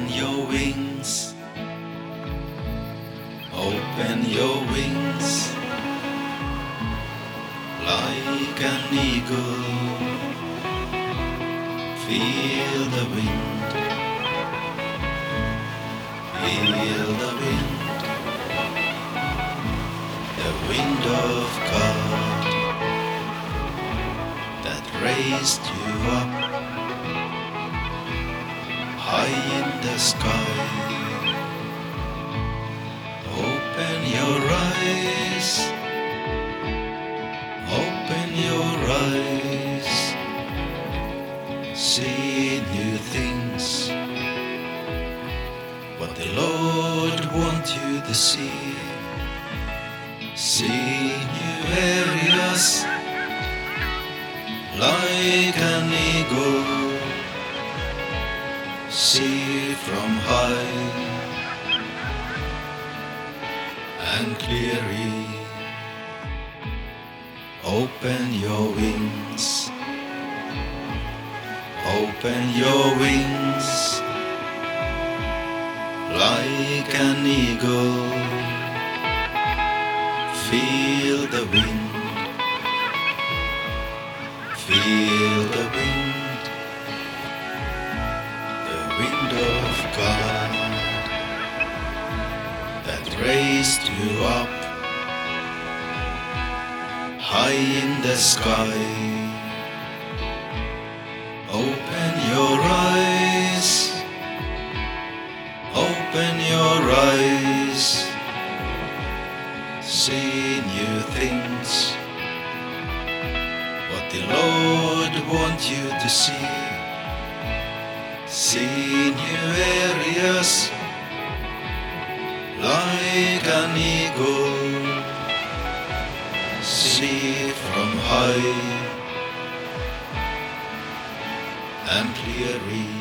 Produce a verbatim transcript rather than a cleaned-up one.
your wings, open your wings, like an eagle. Feel the wind, feel the wind, the wind of God that raised you up high in the sky. Open your eyes, open your eyes, see new things, what the Lord wants you to see. See new areas, like an eagle. See from high and clearly. Open your wings, open your wings, like an eagle. Feel the wind, feel the wind, the wind of God that raised you up high in the sky. Open your eyes, open your eyes, see new things, what the Lord wants you to see. See new areas, like an eagle. See from high and clearly.